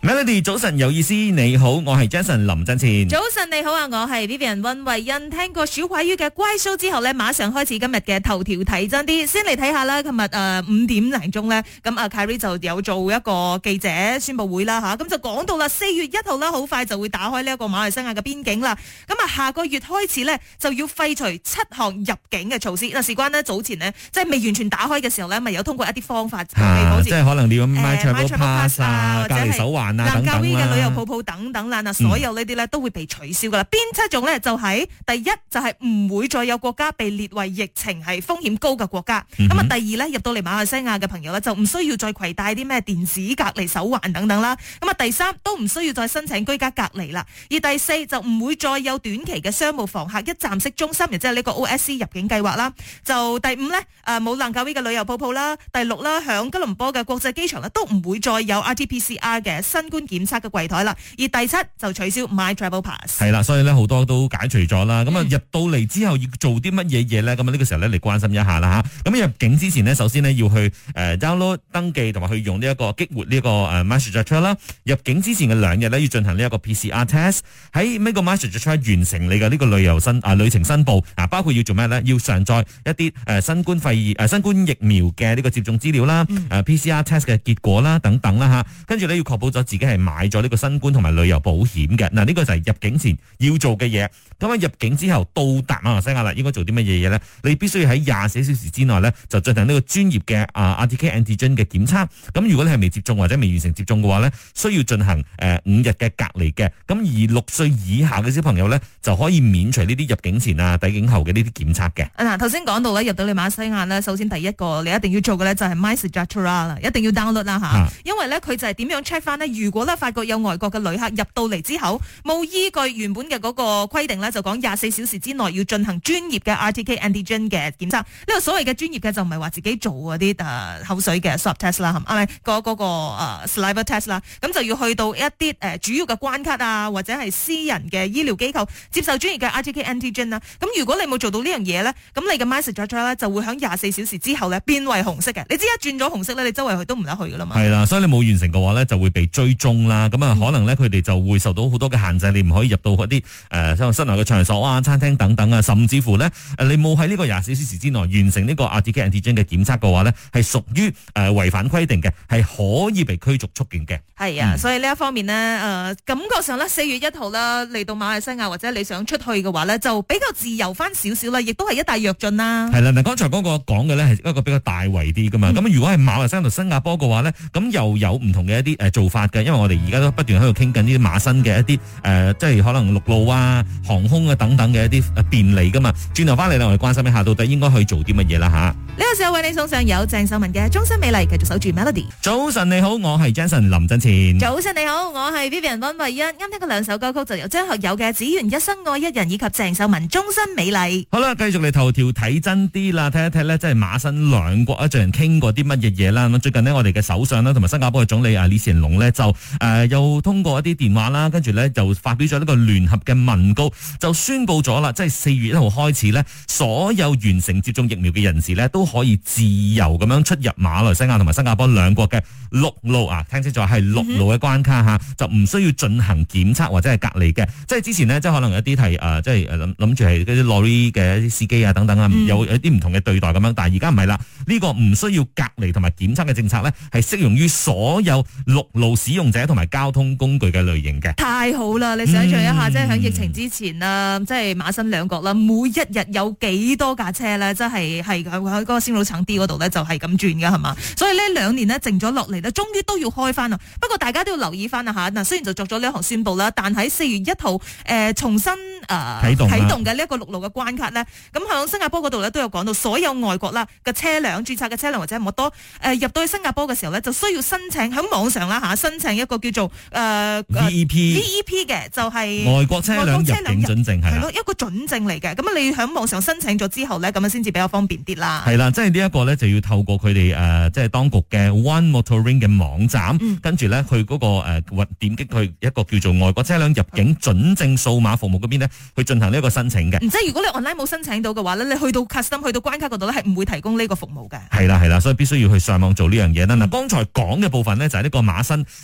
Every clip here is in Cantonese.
Melody 早晨有意思，你好，我係 Jason 林振前。 早晨你好啊，我係 Vivian 溫慧欣。聽過小鬼魚嘅乖 show 之後呢，馬上開始今日嘅頭條睇真啲。先嚟睇下啦，琴日5點零鐘呢，咁Kyrie 就有做一個記者宣佈會啦吓，咁就講到啦，4月1號啦，好快就會打開呢一個馬來西亞嘅邊境啦。咁下個月開始呢，就要廢除7項入境嘅措施。事關呢，早前呢，即係未完全打開嘅時候呢，咪有通過一啲方法， 即係可能你要 MyTravel Pass 啊，隔離手環啊等等嘅旅遊泡泡等等啦，所有呢啲咧都會被取消噶啦。邊7種咧就係第一就係唔會再有國家被列為疫情係風險高嘅國家。咁啊，第二咧入到嚟馬來西亞嘅朋友咧就唔需要再攜帶啲咩電子隔離手環等等啦。咁啊，第三都唔需要再申請居家隔離啦。而第四就唔會再有短期嘅商務房客一站式中心，亦即係呢個 OSC 入境計劃啦。就第五咧冇蘭卡威嘅旅遊泡泡啦。第六啦，響吉隆坡嘅國際機場咧都唔會再有 RT-PCR 嘅新冠檢測嘅櫃台啦，而第7就取消 MyTravel Pass。 係啦，所以咧好多都解除咗啦。咁啊入到嚟之後要做啲乜嘢嘢咧？咁啊呢個時候咧嚟關心一下啦吓。咁入境之前呢，首先呢要去download 登記同埋去用呢一個激活呢個MySejahtera 啦。入境之前嘅2日咧要進行呢一個 PCR test。喺呢個 MySejahtera 完成你嘅呢個旅程申報啊，包括要做咩咧？要上載一啲新冠疫苗嘅呢個接種資料啦，PCR test 嘅結果啦等等啦吓。跟住咧要確保咗自己係買咗呢個新冠同埋旅遊保險嘅。嗱，呢個就係入境前要做嘅嘢。咁啊入境之後到達馬來西亞啦，應該做啲乜嘢嘢咧？你必須要喺24小時之內咧就進行呢個專業嘅RTK antigen 嘅檢測。咁如果你係未接種或者未完成接種嘅話咧，需要進行5日嘅隔離嘅。咁而6歲以下嘅小朋友咧就可以免除呢啲入境前啊、抵境後嘅呢啲檢測嘅。 嗱，頭先講到咧入到你馬來西亞咧，首先第一個你一定要做嘅咧就係 MySejahtera 啦，一定要 download 啦吓，因為咧佢就係點樣 check 翻呢？如果咧發覺有外國嘅旅客入到嚟之後冇依據原本嘅嗰個規定咧，就講24小時之內要進行專業嘅 RTK antigen 嘅檢測。呢個所謂嘅專業嘅就唔係話自己做嗰啲口水嘅 swab test 啦，係咪嗰個saliva test 啦？咁就要去到一啲主要嘅關卡啊，或者係私人嘅醫療機構接受專業嘅 RTK antigen 啦。咁如果你冇做到呢樣嘢咧，咁你嘅 MySejahtera 咧就會喺24小時之後咧變為紅色嘅。你知一轉咗紅色咧，你周圍去都唔得去噶啦嘛。係啦，所以你冇完成嘅話咧，就會被追蹤啦。咁啊，可能咧佢哋就會受到好多嘅限制，你唔可以入到嗰啲室內嘅場所啊、餐廳等等啊，甚至乎咧你冇喺呢個24小時之內完成呢個 RTK antigen 嘅檢測嘅話咧，係屬於違反規定嘅，係可以被驅逐出境嘅。 係啊，所以呢一方面呢，感覺上咧4月1號啦嚟到馬來西亞或者你想出去嘅話咧，就比較自由翻少少啦，亦都係一大躍進啦。 係啦，嗱，剛才嗰個講嘅咧係一個比較大圍啲噶嘛。咁如果係馬來西亞同新加坡嘅話咧，咁又有唔同嘅一啲做法嘅，因為我哋而家都不斷喺度傾緊呢啲馬新嘅一啲即係可能陸路啊、航空啊等等嘅一啲便利噶嘛。轉頭翻嚟咧，我哋關心一下到底應該去做啲乜嘢啦吓。 呢個時候為你送上有鄭秀文嘅《終身美麗》，繼續守住 Melody。 早晨你好，我係 Jason 林振前。 早晨你好，我係 Vivian 溫慧欣。啱聽過2首歌曲，就由張學友嘅《只願一生愛一人》以及鄭秀文《終身美麗》。 好啦，繼續嚟頭條睇真啲啦，睇一睇咧，即係馬新兩國最近傾過啲乜嘢嘢啦。咁最近呢，我哋嘅首相啦，同埋新加坡嘅總理李顯龍呢，就又通過一啲電話啦，跟住咧就發表咗呢個聯合嘅文告，就宣布咗啦，即係4月1號開始呢，所有完成接種疫苗嘅人士呢，都可以自由咁樣出入馬來西亞同埋新加坡兩國嘅陸路啊，聽清楚係陸路嘅關卡吓，就唔需要進行檢測或者係隔離嘅。即係之前呢，即係可能有啲係即係諗住係嗰啲 lorry 嘅一啲司機啊等等啊，有啲唔同嘅對待咁樣，但係而家唔係啦，呢個唔需要隔離同埋檢測嘅政策呢，係適用於所有陸路使用者同埋交通工具嘅類型嘅。 太好啦！你想象一下，即係喺疫情之前啦，即係馬新兩國啦，每一日有幾多架車咧，即係喺嗰個先路橙 D 嗰度咧，就係咁轉噶係嘛？所以呢2年呢，靜咗落嚟咧，終於都要開翻啦。不過大家都要留意翻啊吓，嗱，雖然就作咗呢一項宣布啦，但喺4月1號重新啟動嘅呢一個陸路嘅關卡咧，咁響新加坡嗰度咧都有講到，所有外國啦嘅車輛註冊嘅車輛或者摩多入到去新加坡嘅時候咧，就需要申請喺網上啦吓，申請一個叫做VEP 嘅，就係外國車輛入境準證係咯，一個準證嚟嘅。咁啊，你喺網上申請咗之後咧，咁啊先至比較方便啲啦。 係啦，即係呢一個咧就要透過佢哋即係當局嘅 One Motoring 嘅網站，跟住咧去嗰個點擊去一個叫做外國車輛入境準證數碼服務嗰邊咧，去進行呢一個申請嘅。 即係如果你 online 冇申請到嘅話咧，你去到 custom 去到關卡嗰度咧，係唔會提供呢個服務嘅。 係啦，所以必須要去上網做呢樣嘢啦。嗱，剛才講嘅部分呢，就係呢個馬新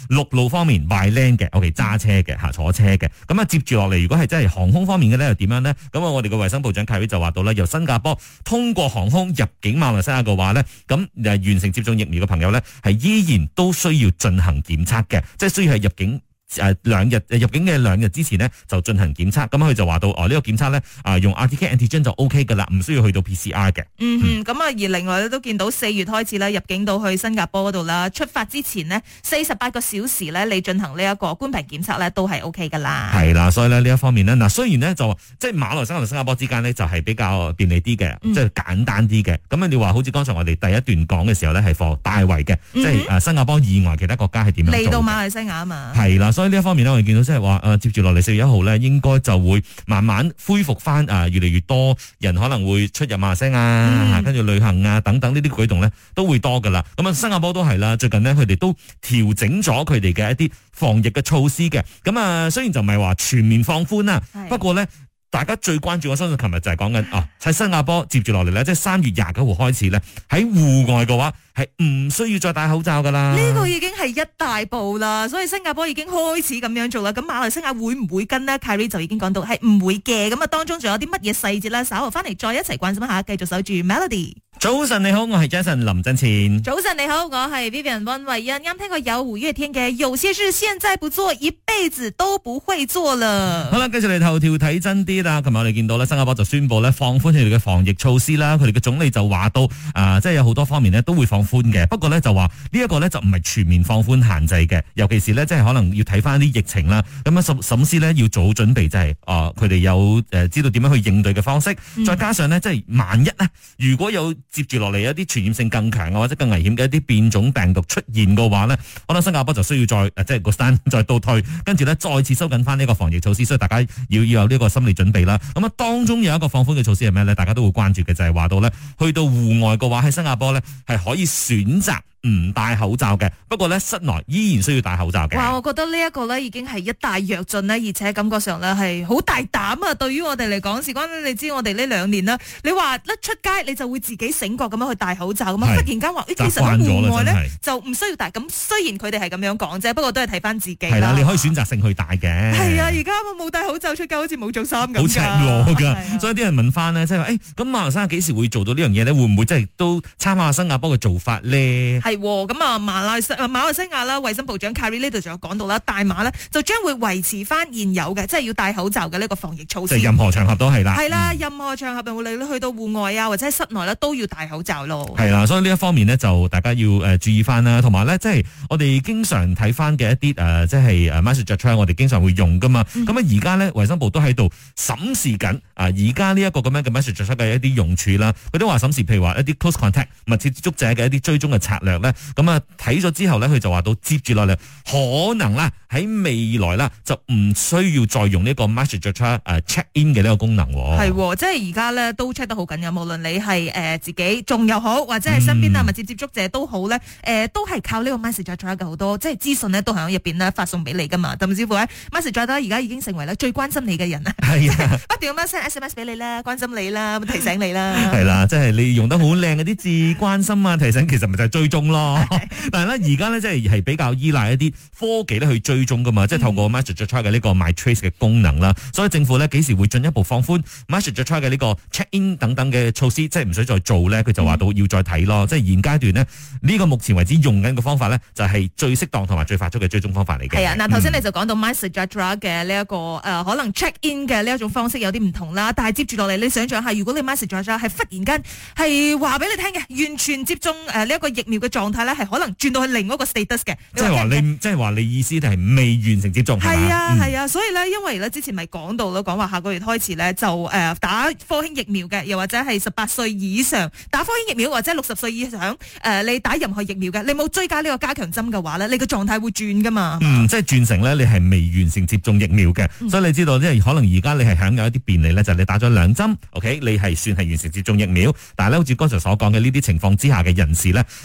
陸路方面 by land 嘅 ，OK 揸車嘅坐車嘅。咁啊接住落嚟，如果係真係航空方面嘅咧，又點樣呢？咁我哋嘅衛生部長凱瑞就話到咧，由新加坡通過航空入境馬來西亞嘅話咧，咁完成接種疫苗嘅朋友咧，係依然都需要進行檢測嘅，即係需要係入境。入境嘅2日之前呢，就進行檢測，咁佢就話到呢個檢測咧用 RTK antigen 就 OK 噶啦，唔需要去到 PCR 嘅。 咁啊而另外咧都見到4月開始咧入境到去新加坡嗰度啦，出發之前呢，48個小時咧你進行呢一個冠病檢測咧都係 OK 噶啦。 係啦，所以咧呢一方面呢，嗱雖然呢，就即係馬來西亞同新加坡之間呢，就係比較便利啲嘅，即係簡單啲嘅。咁你話好似剛才我哋第一段講嘅時候咧係for大圍嘅，即係新加坡以外其他國家係點樣做嚟到馬來西亞啊嘛。 係啦。所以呢一方面呢，我哋見到即係話接住落嚟4月1號呢，應該就會慢慢恢復翻越嚟越多人可能會出入馬來西亞跟住旅行等等呢啲舉動呢，都會多噶啦。咁新加坡都係啦，最近呢，佢哋都調整咗佢哋嘅一啲防疫嘅措施嘅。咁雖然就唔係話全面放寬啦，不過呢，大家最關注，我相信琴日就係講緊喺新加坡接住落嚟呢，即係3月29號開始呢，喺戶外嘅話係唔需要再戴口罩噶啦。 呢個已經係一大步啦，所以新加坡已經開始咁樣做啦。咁馬來西亞會唔會跟呢？ Kyrie 就已經講到係唔會嘅。咁當中仲有啲乜嘢細節咧？稍後翻嚟再一齊關心一下，繼續守住 Melody。 早晨你好，我係 Jason 林振前。 早晨你好，我係 Vivian 溫慧欣。啱聽過有5月天嘅有些事現在不做，一輩子都不會做了。 好啦，繼續嚟頭條睇真啲啦。琴日我哋見到咧，新加坡就宣布咧放寬佢哋嘅防疫措施啦。佢哋嘅總理就話到即係有好多方面呢都會放寬嘅。不過咧就話呢一個咧就唔係全面放寬限制嘅，尤其是咧即係可能要睇翻啲疫情啦。咁審思咧要做好準備，就係佢哋有知道點樣去應對嘅方式。再加上呢，即係萬一呢，如果有接住落嚟一啲傳染性更強或者更危險嘅一啲變種病毒出現嘅話呢，可能新加坡就需要再即係個山再倒退，跟住呢再次收緊翻呢個防疫措施，所以大家要有呢個心理準備啦。咁當中有一個放寬嘅措施係咩呢？大家都會關注嘅就係話到呢，去到戶外嘅話喺新加坡呢係可以選擇唔戴口罩嘅，不過咧室內依然需要戴口罩嘅。哇， 我覺得呢一個咧已經係一大躍進咧，而且感覺上咧係好大膽啊！對於我哋嚟講，事關你知我哋呢2年啦，你話一出街你就會自己醒覺咁樣去戴口罩咁啊，忽然間話其實喺戶外咧就唔需要戴。咁雖然佢哋係咁樣講啫，不過都係睇翻自己。係啦， 你可以選擇性去戴嘅。 係啊，而家我冇戴口罩出街，好似冇着衫咁。 好赤裸噶，所以啲人問翻呢，即係話咁馬來西亞幾時會做到呢樣嘢咧？會唔會真係都參考新加坡嘅做法咧？係咁啊！馬來西亞啦，衛生部長 Kyrie 呢度仲有講到啦，大馬呢就將會維持翻現有嘅，即係要戴口罩嘅呢個防疫措施。 即係任何場合都係啦。係啦，任何場合無論你去到戶外啊，或者喺室內咧，都要戴口罩咯。 係啦，所以呢一方面呢，就大家要注意翻啦，同埋呢，即係我哋經常睇翻嘅一啲即係MySejahtera，我哋經常會用噶嘛。咁而家呢，衛生部都喺度審視緊而家呢一個咁樣嘅 MySejahtera嘅一啲用處啦。佢都話審視，譬如話一啲 close contact 密切接觸者嘅一啲追蹤嘅策略咧。咁睇咗之後咧，佢就話到接住落嚟可能啦，喺未來啦就唔需要再用呢個 MySejahtera check in 嘅呢個功能。 係，即係而家咧都 check 得好緊要，無論你係自己中又好，或者係身邊密切接觸者都好咧，都係靠呢個 MySejahtera嘅好多，即係資訊咧都喺入邊咧發送俾你噶嘛。甚至乎咧 MySejahtera 而家已經成為咧最關心你嘅人啦。係啊，不斷咁樣 send SMS 俾你啦，關心你啦，提醒你啦。係啦，即係你用得好靚嗰啲字，關心啊，提醒，其實咪就係追蹤咯。但係咧，而家咧即係比較依賴一啲科技咧去追蹤噶嘛，即係透過 MySejahtera 嘅呢個 MyTrace 嘅功能啦。所以政府咧幾時會進一步放寬 MySejahtera 嘅呢個 check in 等等嘅措施，即係唔使再做咧，佢就話到要再睇咯。即係現階段呢，呢個目前為止用緊嘅方法咧，就係最適當同埋最快速嘅追蹤方法嚟嘅。係啊，嗱頭先你就講到 MySejahtera 嘅呢一個可能 check in 嘅呢一種方式有啲唔同啦，但係接住落嚟你想象下，如果你 MySejahtera 係忽然間係話俾你聽嘅，完全接種呢一個疫苗嘅狀態咧，係可能轉到去另一個 status 嘅。即係話你意思係未完成接種係嘛？係啊，所以咧，因為咧之前咪講到咯，講話下個月開始咧就打科興疫苗嘅，又或者係18歲以上打科興疫苗，或者60歲以上你打任何疫苗嘅，你冇追加呢個加強針嘅話咧，你個狀態會轉噶嘛？即係轉成咧，你係未完成接種疫苗嘅，所以你知道即係可能而家你係享有一啲便利咧，就係你打咗2針 ，OK， 你係算係完成接種疫苗，但係咧好似剛才所講嘅呢啲情況之下嘅人士咧，你喺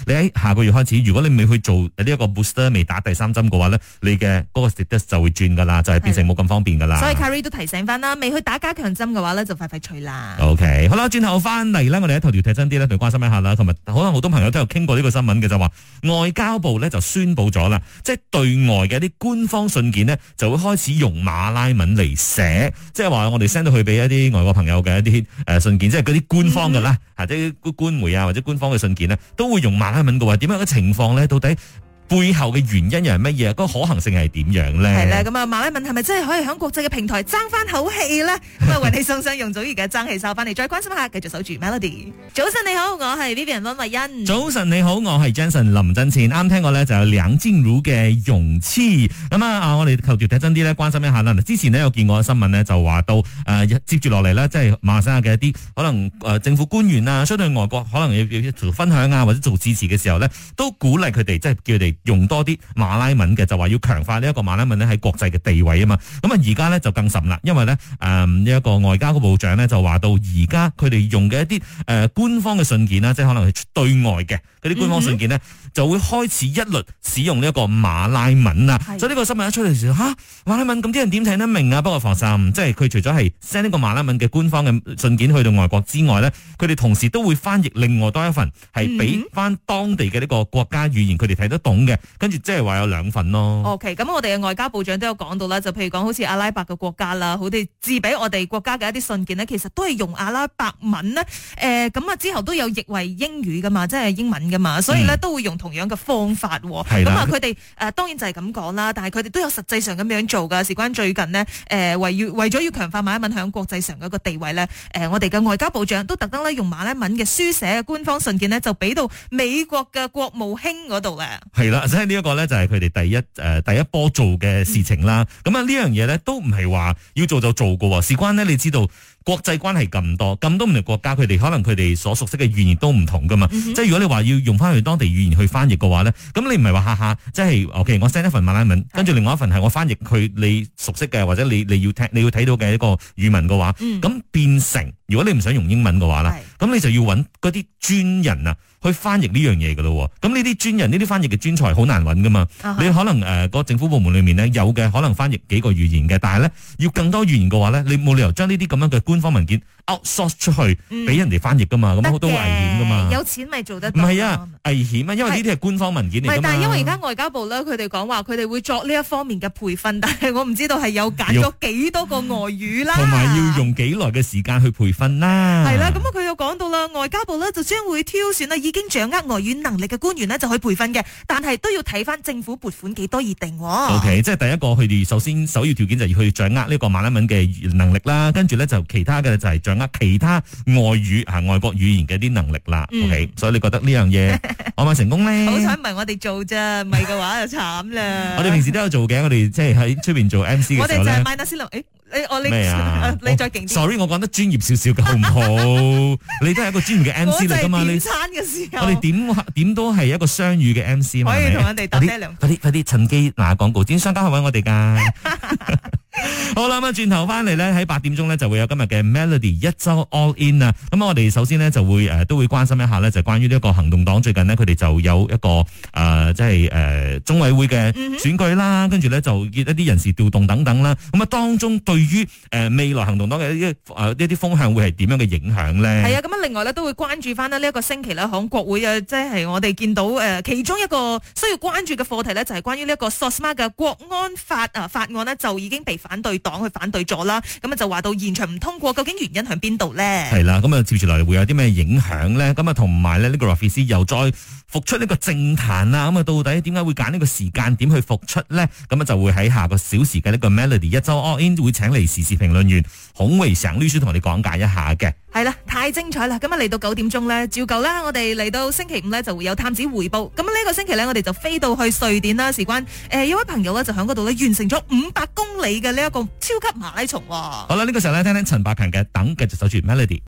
下個月開始，如果你未去做呢一個 booster 未打第3針嘅話咧，你嘅嗰個 status 就會轉噶啦，就係變成冇咁方便噶啦。 所以 Carrie 都提醒翻啦，未去打加強針嘅話咧，就快脆啦。 OK， 好啦，轉頭翻嚟咧，我哋喺頭條睇真啲咧，嚟關心一下啦。同埋可能好多朋友都有傾過呢個新聞嘅，就話外交部咧就宣布咗啦，即係對外嘅一啲官方信件呢，就會開始用馬拉文嚟寫，即係話我哋 send 到去俾一啲外國朋友嘅一啲信件，即係嗰啲官方嘅啦，或者官媒啊或者官方嘅信件呢，都會用馬拉文嘅話，點樣嘅情況咧？到底背後嘅原因又係乜嘢？嗰個可行性係點樣咧？ 係啦，咁啊馬拉文係咪真係可以喺國際嘅平台爭翻口氣咧？咁啊為你送上容祖兒嘅爭氣哨翻嚟，再關心下，繼續守住 Melody。早晨你好，我係 Vivian 溫慧欣。 早晨你好，我係 Jensen 林振前。啱聽過咧就有梁靜茹嘅勇氣。咁啊我哋頭條睇真啲咧，關心一下啦。之前呢，有見過新聞呢，就話到接住落嚟呢，即係馬來西亞嘅一啲可能政府官員啊，相對外國可能要做分享啊或者做致辭嘅時候呢，都鼓勵佢哋即係叫佢哋用多啲馬拉文嘅，就話要強化呢一個馬拉文咧喺國際嘅地位啊嘛。咁啊而家咧就更甚啦，因為咧呢一個外交部長咧就話到而家佢哋用嘅一啲官方嘅信件啦，即係可能係對外嘅嗰啲官方信件呢，就會開始一律使用呢一個馬拉文啊。所以呢個新聞一出嚟嘅時候，馬拉文咁啲人點睇得明啊？不過放心，即係佢除咗係 send 呢個馬拉文嘅官方嘅信件去到外國之外咧，佢哋同時都會翻譯另外多一份係俾翻當地嘅呢個國家語言佢哋睇得懂嘅。跟住即係話有2份咯。 OK， 咁我哋嘅外交部長都有講到啦，就譬如講好似阿拉伯嘅國家啦，好哋寄俾我哋國家嘅一啲信件呢，其實都係用阿拉伯文呢。咁啊之後都有譯為英語噶嘛，即係英文噶嘛，所以呢都會用同樣嘅方法。咁啊佢哋當然就係咁講啦，但係佢哋都有實際上咁樣做噶。事關最近呢，為咗要強化馬拉文響國際上嘅一個地位呢，我哋嘅外交部長都特登咧用馬拉文嘅書寫嘅官方信件呢，就俾到美國嘅國務卿嗰度咧。 係啦，即係呢一個咧就係佢哋第一波做嘅事情啦。咁啊呢樣嘢咧都唔係話要做就做嘅，事關呢，你知道國際關係咁多唔同國家，佢哋可能佢哋所熟悉嘅語言都唔同噶嘛。即係如果你話要用翻佢當地語言去翻譯嘅話咧，咁你唔係話下下即係 OK， 我 send 一份馬拉文，跟住另外一份係我翻譯佢你熟悉嘅或者你要睇到嘅一個語文嘅話，咁變成如果你唔想用英文嘅話啦，咁你就要揾嗰啲專人啊去翻譯呢樣嘢噶咯。咁呢啲專人呢啲翻譯嘅專才好難揾噶嘛。你可能個政府部門裏面呢，有嘅可能翻譯幾個語言嘅，但係咧要更多語言嘅話咧，你冇理由將呢啲咁樣嘅官方文件 outsource 出去俾人哋翻譯噶嘛，咁好多危險噶嘛。 有錢咪做得到。 唔係啊，危險啊，因為呢啲係官方文件嚟噶嘛。 但係因為而家外交部咧，佢哋講話佢哋會作呢一方面嘅培訓，但係我唔知道係有揀咗幾多個外語啦， 同埋要用幾耐嘅時間去培訓啦。 係啦，咁佢又講到啦，外交部咧就將會挑選啦已經掌握外語能力嘅官員呢，就去培訓嘅，但係都要睇翻政府撥款幾多而定。 OK， 即係第一個佢哋首要條件就係要去掌握呢個馬拉文嘅能力啦，跟住咧就其他嘅就係掌握其他外國語言嘅啲能力啦。OK， 所以你覺得呢樣嘢可唔可以成功咧？ 好彩唔係我哋做啫，唔係嘅話就慘啦。 我哋平時都有做嘅，我哋即係喺出邊做 MC 嘅時候咧。 我哋就係買那斯林，你再勁啲。 Sorry， 我講得專業少少嘅好唔好？你都係一個專業嘅 MC 嚟噶嘛？你餐嘅時候， 我哋點都係一個雙語嘅 MC 嘛？ 可以同人哋搭爹兩。 快啲趁機嗱廣告，點商家去揾我哋噶？好啦，咁轉頭翻嚟咧，喺8點鐘咧就會有今日嘅 Melody 一周 All In 啊。咁我哋首先呢，就會都會關心一下咧，就關於呢一個行動黨最近呢，佢哋就有一個即係中委會嘅選舉啦，跟住咧就一啲人事調動等等啦。咁啊當中對於未來行動黨嘅一啲風向會係點樣嘅影響咧？係啊，咁啊另外咧都會關注翻呢一個星期咧，響國會啊，即係我哋見到其中一個需要關注嘅課題咧，就係關於呢一個 SOSMA 嘅國安法法案呢，就已經被反對黨去反對咗啦。咁啊就話到現場唔通過，究竟原因喺邊度咧？係啦，咁啊接住落嚟會有啲咩影響咧？咁啊同埋咧呢個 Rafizi 又再復出呢個政壇啦。咁啊到底點解會揀呢個時間點去復出咧？咁啊就會喺下個小時嘅呢個 Melody 一周 All In 會請嚟時事評論員孔維成律師同我哋講解一下嘅。係啦，太精彩啦！咁啊嚟到9點鐘咧，照舊啦，我哋嚟到星期5咧就會有探子回報。咁呢個星期咧，我哋就飛到去瑞典啦，事關有位朋友咧就喺嗰度咧完成咗500公里嘅呢一個超級馬拉松。好啦，呢個時候咧聽聽陳百強嘅《等》，繼續守住 Melody。